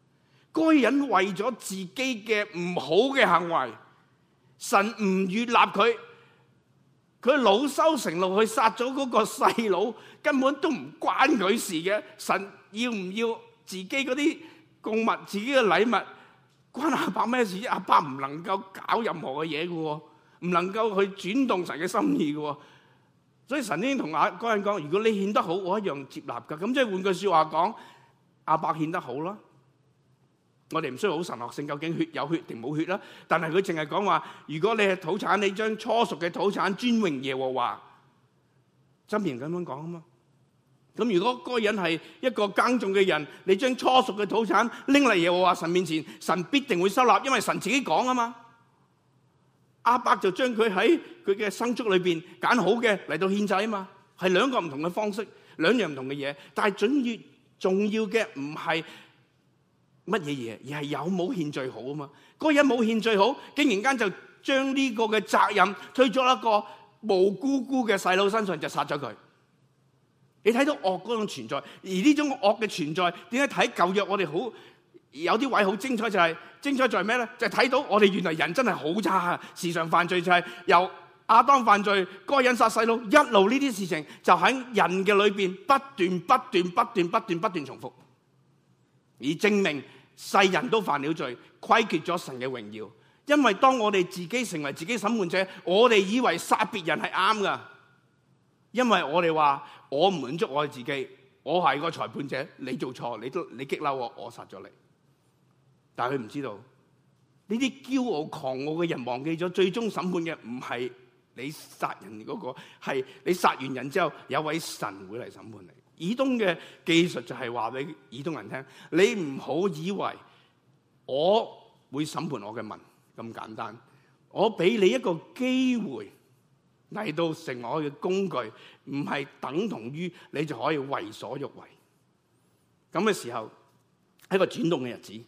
該人為咗自己嘅唔好嘅行為，神唔悅納佢，佢惱羞成怒去殺咗嗰個細佬，根本都唔關佢事嘅。神要唔要自己嗰啲供物、自己嘅禮物，關亞伯咩事？亞伯唔能夠搞任何嘅嘢嘅，唔能夠去轉動神嘅心意嘅。所以神已經同亞該人講：如果你獻得好，我一樣接納噶。咁即係換句說話講，亞伯獻得好啦。我哋唔需要好神學性，究竟血有血定冇血啦。但係佢淨係講話，如果你係土產，你將初熟嘅土產尊榮耶和華。箴言咁樣講啊嘛。咁如果嗰個人係一個耕種嘅人，你將初熟嘅土產拎嚟耶和華神面前，神必定會收納，因為神自己講啊嘛。亞伯就將佢喺佢嘅牲畜裏邊揀好嘅嚟到獻祭啊嘛，係兩個唔同嘅方式，兩樣唔同嘅嘢。但係準越重要嘅唔係乜嘢嘢，而係有冇獻最好啊嘛。嗰個人冇獻最好，竟然間就將呢個嘅責任推咗一個無辜辜嘅細佬身上，就殺咗佢。你睇到惡嗰種存在，而呢種惡嘅存在，點解睇舊約我哋好有啲位好精彩，就係、是、精彩在咩咧？就係、是、睇到我哋原來人真係好差啊！時常犯罪就係由亞當犯罪，該隱殺細佬，一路呢啲事情就喺人嘅裏邊不斷不斷不斷不斷不斷重複，而證明世人都犯了罪，虧缺咗神嘅榮耀。因為當我哋自己成為自己審判者，我哋以為殺別人係啱噶，因為我哋話我唔滿足我自己，我係個裁判者，你做錯，你都你激嬲我，我殺咗你。但係佢唔知道呢啲驕傲狂傲嘅人忘記咗，最終審判嘅唔係你殺人嗰個，係你殺完人之後有位神會嚟審判你。以東嘅技術就係話俾以東人聽，你唔好以為我會審判我嘅民咁簡單，我俾你一個機會嚟到成為我嘅工具，唔係等同於你就可以為所欲為。咁嘅時候係一個轉動嘅日子。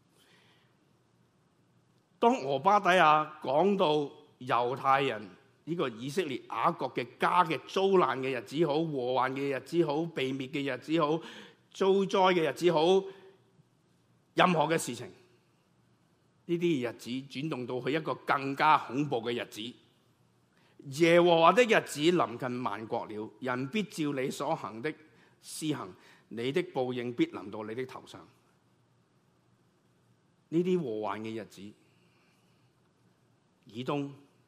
當俄巴底亞講到猶太人呢個以色列雅各嘅家嘅遭難嘅日子好，禍患嘅日子好，被滅嘅日子好，遭災嘅日子好，任何嘅事情，呢啲日子轉動到去一個更加恐怖嘅日子。耶和華的日子臨近萬國了，人必照你所行的施行，你的報應必臨到你的頭上。呢啲禍患嘅日子，以東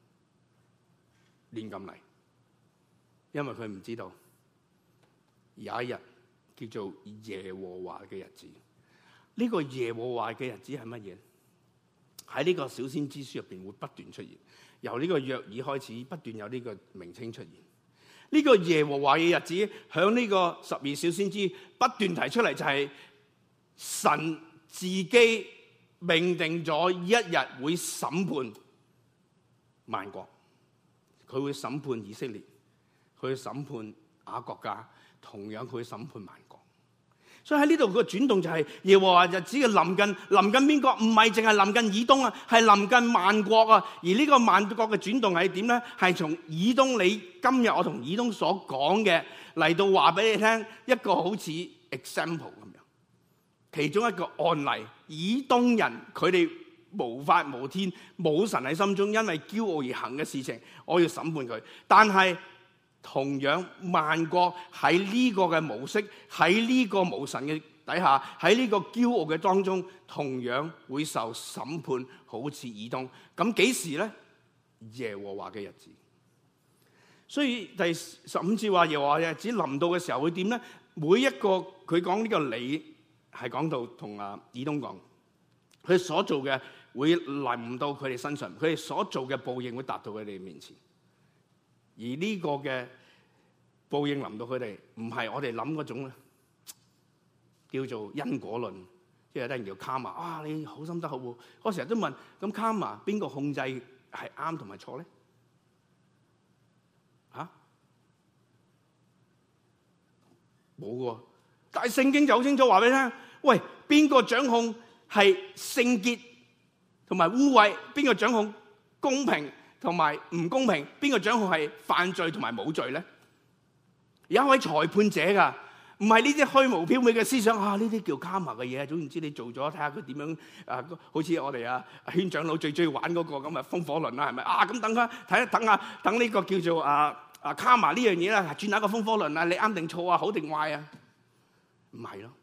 亂咁嚟，因為佢唔知道有一日叫做耶和華嘅日子。呢、這個耶和華嘅日子係乜嘢？喺呢個小先知書入邊會不斷出現，由呢個約珥開始不斷有呢個名稱出現。呢、這個耶和華嘅日子響呢個十二小先知不斷提出嚟，就係神自己命定咗一日會審判萬國，佢會審判以色列，佢會審判雅各家，同樣佢會審判萬國。所以喺呢度個轉動就係耶和華日子嘅臨近，臨近邊個？唔係淨係臨近以東啊，係臨近萬國啊。而呢個萬國嘅轉動係點咧？係從以東，你今日我同以東所講嘅嚟到話俾你聽，一個好似 example 咁樣，其中一個案例，以東人佢哋無法無天，冇神喺心中，因為驕傲而行嘅事情，我要審判佢。但係同樣萬國喺呢個嘅模式，喺呢個無神嘅底下，喺呢個驕傲嘅當中，同樣會受審判，好似以東。咁幾時咧？耶和華嘅日子。所以第十五節話耶和華嘅日子臨到嘅時候會點咧？每一個佢講呢個理係講到同阿以東講，佢所做嘅會臨到佢哋身上，佢哋所做嘅報應會達到佢哋面前。而呢個嘅報應臨到佢哋，唔係我哋諗嗰種咧，叫做因果論，即係有啲人叫卡瑪。啊，你好心得好喎！我成日都問，咁卡瑪邊個控制係啱同埋錯咧？嚇，冇喎。但係聖經就好清楚話俾你聽，喂，邊個掌控係聖潔同埋污穢？邊個掌控公平同埋唔公平？邊個掌控係犯罪同埋冇罪咧？有一位裁判者噶，唔唔係呢啲虛無縹緲嘅思想啊！呢啲叫卡瑪嘅嘢，總言之你做咗，睇下佢點樣啊！好似我哋啊圈長老最中意玩嗰個咁嘅風火輪啦，係咪啊？咁等下睇下，等下等呢個叫做啊啊卡瑪呢樣嘢啦，轉下個風火輪啊，你啱定錯啊，好定壞啊？唔係咯，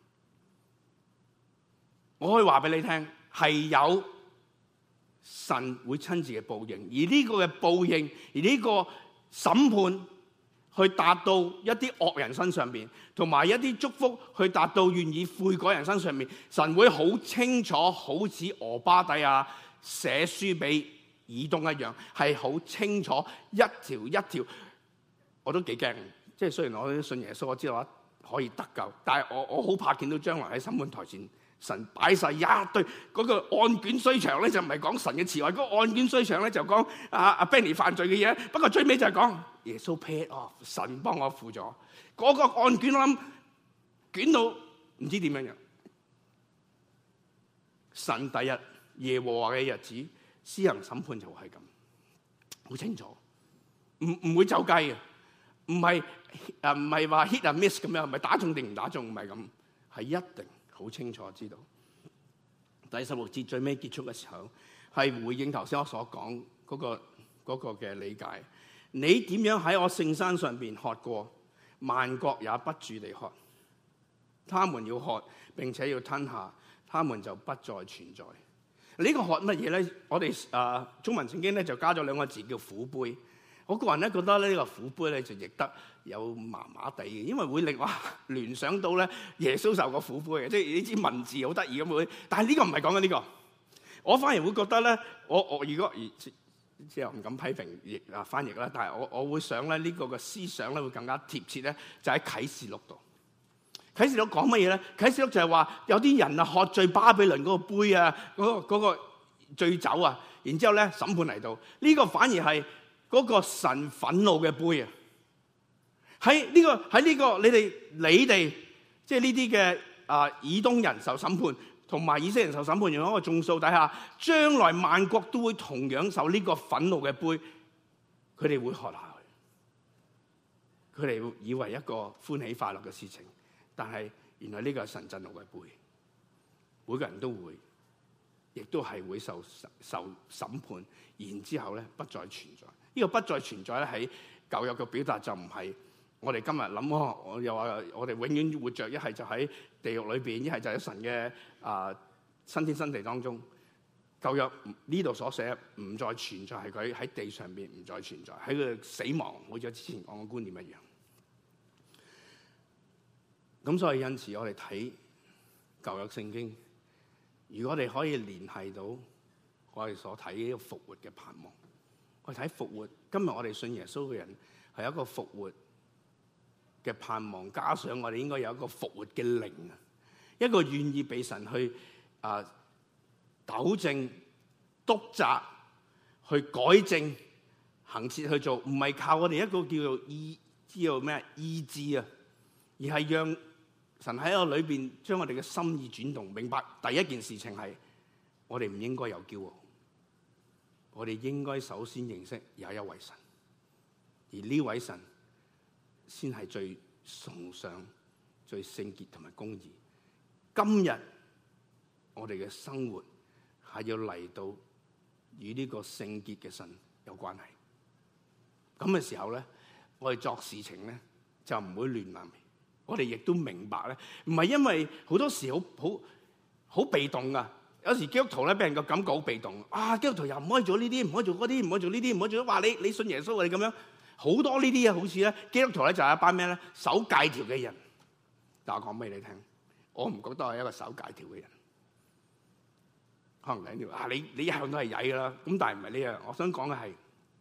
我可以話俾你聽，係有神會親自嘅報應，而呢個嘅報應，而呢個審判。去達到一啲惡人身上邊，同埋一啲祝福去達到願意悔改人身上面，神會好清楚，好似俄巴底亞寫書俾以東一樣，係好清楚一條一條。我都幾驚，即係雖然我信耶穌，我知道我可以得救，但係我我好怕見到將來喺審判台前，神擺晒一堆嗰個案卷衰長咧，就唔係講神嘅慈愛，嗰個案卷衰長咧就講阿阿 Benny 犯罪嘅嘢，不過最尾就係講耶穌 paid off，神幫我付咗嗰個案卷，我諗捲到唔知點樣樣。神第日耶和華嘅日子施行審判就係咁，好清楚，唔唔會走雞嘅，唔係誒唔係話 hit and miss 咁樣，唔係打中定唔打中，唔係咁，係一定好清楚知道。第十六節最尾結束嘅時候，係回應頭先我所講嗰個嗰個嘅理解。你點樣喺我聖山上邊喝過，萬國也不住地喝。他們要喝並且要吞下，他們就不再存在。呢、這個喝乜嘢咧？我哋誒、呃、中文聖經咧就加咗兩個字叫苦杯。我個人咧覺得呢個苦杯咧就譯得有麻麻地嘅，因為會令我聯想到咧耶穌受過苦杯嘅，即係呢支文字好得意咁會。但係呢個唔係講緊呢個，我反而會覺得咧，我我如果即係我唔敢批評譯啊翻譯啦，但係我我會想咧呢個嘅思想咧會更加貼切咧，就喺啟示錄度。啟示錄講乜嘢咧？啟示錄就係話有啲人啊喝醉巴比倫嗰個杯啊，嗰個嗰個醉酒啊，然之後咧審判嚟到，呢個反而係嗰個神憤怒嘅杯啊！喺呢個喺呢個你哋你哋即係呢啲嘅啊以東人受審判，同埋以色列人受審判，用一個眾數底下，將來萬國都會同樣受呢個憤怒嘅杯，佢哋會喝下去，佢哋會以為一個歡喜快樂嘅事情，但係原來呢個係神震怒嘅杯，每個人都會，亦都係會受受審判，然之後咧不再存在。呢、這個不再存在咧喺舊約嘅表達就唔係我哋今日諗哦，我又話我哋永遠活着，一係就喺地獄裏邊，一係就喺神嘅啊新天新地當中。舊約呢度所寫唔再存在，係佢喺地上邊唔再存在，喺佢死亡，好似之前講嘅觀念一樣。咁所以因此我哋睇舊約聖經，如果我哋可以聯繫到我哋所睇呢個復活嘅盼望。我睇復活，今日我哋信耶穌嘅人係一個復活嘅盼望，加上我哋應該有一個復活嘅靈啊，一個願意被神去啊糾正、督責、去改正、行事去做，唔係靠我哋一個叫做意知道咩意志啊，而係讓神喺我裏邊將我哋嘅心意轉動，明白第一件事情係我哋唔應該有驕傲。我哋應該首先認識有一位神，而呢位神先係最崇尚、最聖潔同埋公義。今日我哋嘅生活係要嚟到與呢個聖潔嘅神有關係。咁嘅時候咧，我哋作事情咧就唔會亂嚟。我哋亦都明白咧，唔係因為好多時好好好被動噶。有時基督徒咧，俾人個感覺好被動。啊，基督徒又唔可以做呢啲，唔可以做嗰啲，唔可以做呢啲，唔可以做。話你你信耶穌，你咁樣好多呢啲啊，好似咧基督徒咧就係一班咩咧守戒條嘅人。但我講俾你聽，我唔覺得我係一個守戒條嘅人。可能你條啊，你你一向都係曳噶啦。咁但係唔係呢樣。我想講嘅係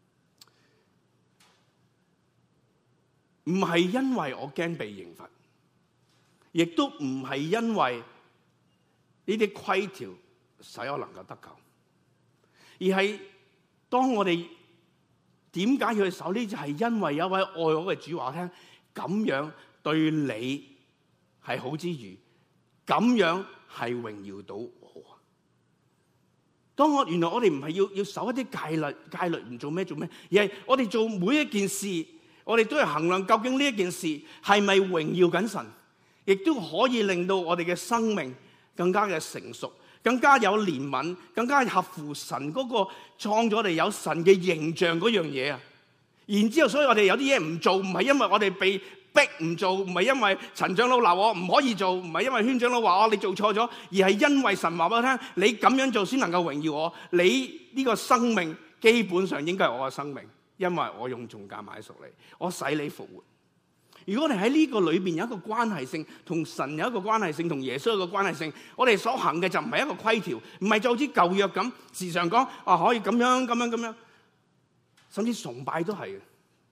唔係因為我驚被刑罰，亦都唔係因為呢啲規條使我能夠得救，而係當我哋點解要去守呢？就係因為有一位愛我嘅主話我聽，咁樣對你係好之餘，咁樣係榮耀到我。當我原來我哋唔係要要守一啲戒律，戒律唔做咩做咩，而係我哋做每一件事，我哋都係衡量究竟呢一件事係咪榮耀緊神。 亦都可以令到我哋嘅生命更加嘅成熟，更加有憐憫，更加合乎神嗰個創咗我哋有神嘅形象嗰樣嘢啊！然之後，所以我哋有啲嘢唔做，唔係因為我哋被逼唔做，唔係因為陳長老鬧我唔可以做，唔係因為圈長老話我你做錯咗，而係因為神話俾我聽，你咁樣做先能夠榮耀我。你呢個生命基本上應該係我嘅生命，因為我用重價買贖你，我使你復活。如果我哋喺呢個裏邊有一個關係性，同神有一個關係性，同耶穌有一個關係性，我哋所行嘅就唔係一個規條，唔係就好似舊約咁時常講啊可以咁樣咁樣咁樣，甚至崇拜都係嘅。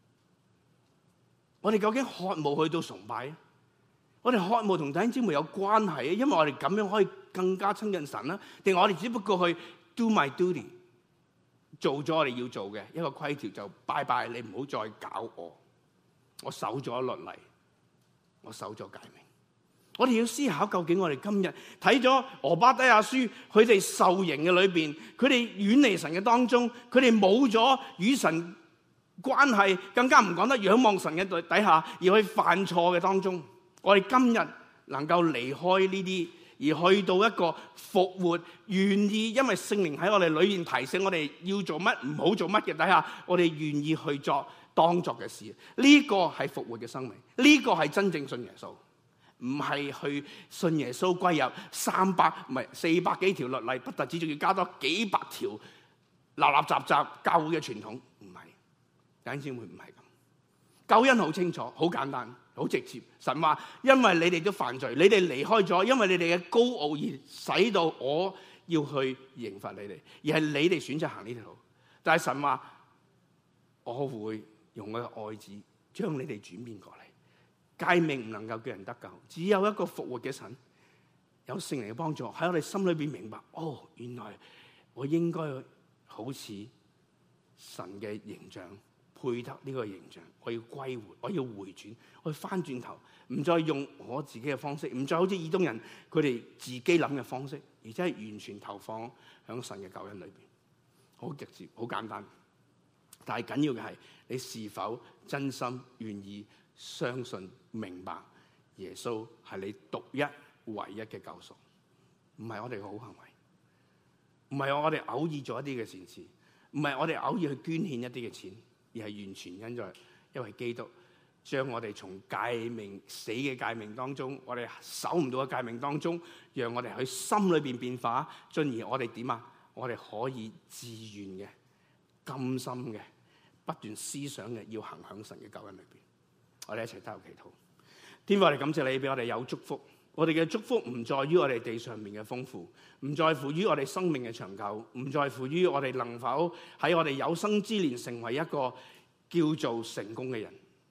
我哋究竟渴慕去到崇拜？我哋渴慕同弟兄姊妹有關係，因為我哋咁樣可以更加親近神啦。定係我哋只不過去 do my duty， 做咗我哋要做嘅一個規條就拜拜，你唔好再搞我。我守咗律例，我守咗誡命。我哋要思考，究竟我哋今日睇咗俄巴底亞書，佢哋受刑嘅裏邊，佢哋遠離神嘅當中，佢哋冇咗與神關係，更加唔講得仰望神嘅底下，而去犯錯嘅當中，我哋今日能夠離開呢啲，而去到一個復活，願意因為聖靈喺我哋裏面提醒我哋要做乜，唔好做乜嘅底下，我哋願意去作當作嘅事。呢個係復活嘅生命，呢個係真正信耶穌，唔係去信耶穌歸入三百唔係四百幾條律例，不特止仲要加多幾百條立立雜雜教會嘅傳統，唔係。弟兄姊妹唔係咁，救恩好清楚、好簡單、好直接。神話因為你哋都犯罪，你哋離開咗，因為你哋嘅高傲而使到我要去刑罰你哋，而係你哋選擇行呢條路。但係神話我會用我嘅愛子將你哋轉變過嚟。誡命唔能夠叫人得救，只有一個復活嘅神，有聖靈嘅幫助喺我哋心裏邊明白，哦，原來我應該好似神嘅形象。配得呢個形象，我要歸回，我要回轉，我要翻轉頭，唔再用我自己嘅方式，唔再好似以東人佢哋自己諗嘅方式，而且係完全投放喺神嘅救恩裏邊，好直接，好簡單。但係緊要嘅係你是否真心願意相信、明白耶穌係你獨一唯一嘅救贖，唔係我哋嘅好行為，唔係我哋偶爾做一啲嘅善事，唔係我哋偶爾去捐獻一啲嘅錢。而係完全因在，因為基督將我哋從誡命死嘅誡命當中，我哋守唔到嘅誡命當中，讓我哋喺心裏邊變化，進而我哋點啊？我哋可以自願嘅、甘心嘅、不斷思想嘅，要行響神嘅救恩裏邊。我哋一齊低頭祈禱。天父，我哋感謝你俾我哋有祝福。我哋嘅祝福唔在於我哋地上面嘅豐富，唔在乎於我哋生命嘅長久，唔在乎於我哋能否喺我哋有生之年成為一個叫做成功嘅人，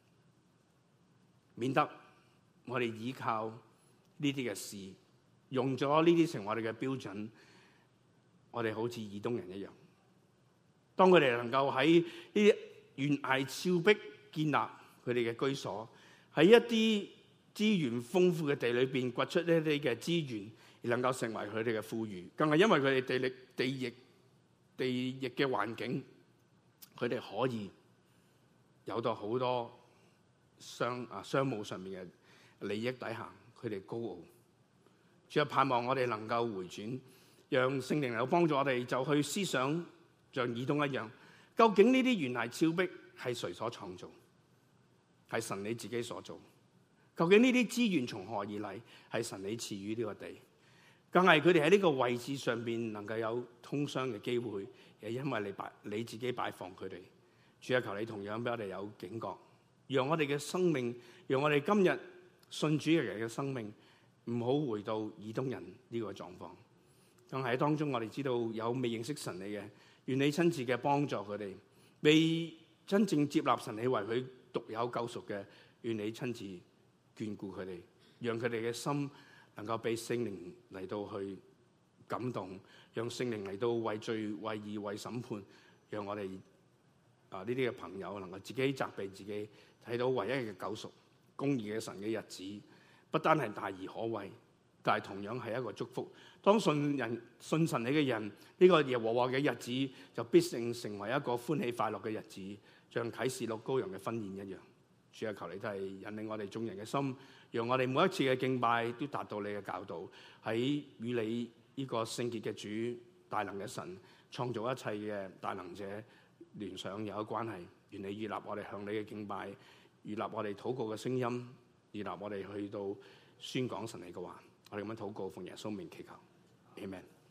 免得我哋依靠呢啲嘅事，用咗呢啲成為我哋嘅標準，我哋好似以東人一樣。當佢哋能夠喺呢啲懸崖峭壁建立佢哋嘅居所，喺一啲資源豐富嘅地裏邊掘出呢啲嘅資源，而能夠成為佢哋嘅富裕，更係因為佢哋地力、地域、地域嘅環境，佢哋可以有到好多商啊商務上面嘅利益底下，佢哋高傲。主啊，盼望我哋能夠回轉，讓聖靈有幫助我哋，就去思想像以東一樣，究竟呢啲懸崖峭壁係誰所創造？係神你自己所做。究竟呢啲資源從何而嚟？係神你賜予呢個地，更係佢哋喺呢個位置上邊能夠有通商嘅機會，係因為你擺你自己擺放佢哋。主啊，求你同樣俾我哋有警覺，讓我哋嘅生命，讓我哋今日信主嘅人嘅生命，唔好回到以東人呢個狀況。更係喺當中，我哋知道有未認識神你嘅，願你親自嘅幫助佢哋；未真正接納神你為佢獨有救贖嘅，願你親自眷顧佢哋，讓佢哋嘅心能夠被聖靈嚟到去感動，讓聖靈嚟到為罪、為義、為審判，讓我哋啊呢啲嘅朋友能夠自己責備自己，睇到唯一嘅救贖、公義嘅神嘅日子，不單係大而可畏，但係同樣係一個祝福。當信人信神你嘅人，呢、這個耶和華嘅日子就必定成為一個歡喜快樂嘅日子，像啟示錄羔羊嘅婚宴一樣。 主啊，求你都係引領我哋眾人嘅心，讓我哋每一次嘅敬拜都達到你嘅教導，喺與你呢個聖潔嘅主、大能嘅神、創造一切嘅大能者聯想有一關係。願你悅納我哋向你嘅敬拜，悅納我哋禱告嘅聲音，悅納我哋去到宣講神你嘅話。我哋咁樣禱告，奉耶穌名祈求，阿們。